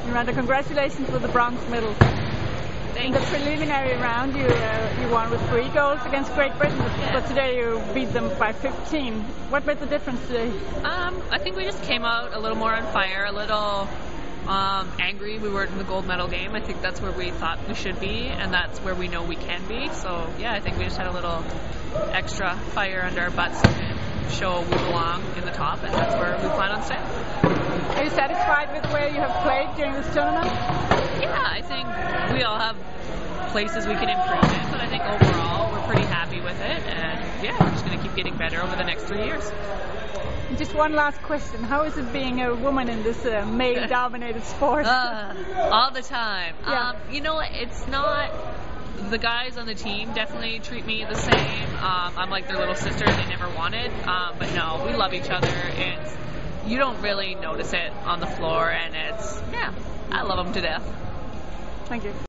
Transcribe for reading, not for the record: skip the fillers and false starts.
Miranda, congratulations for the bronze medal. In the preliminary round, you won with 3 goals against Great Britain, but today you beat them by 15. What made the difference today? I think we just came out a little more on fire, a little angry. We weren't in the gold medal game. I think that's where we thought we should be, and that's where we know we can be. So, yeah, I think we just had a little extra fire under our butts to show we belong in the top, and that's where we plan on staying. Are you satisfied with where you have played during this tournament? Yeah, I think we all have places we can improve in, but I think overall we're pretty happy with it, and yeah, we're just going to keep getting better over the next 3 years. Just one last question. How is it being a woman in this male-dominated sport? All the time. Yeah. It's not... The guys on the team definitely treat me the same. I'm like their little sister they never wanted. But no, we love each other. You don't really notice it on the floor, and I love them to death. Thank you.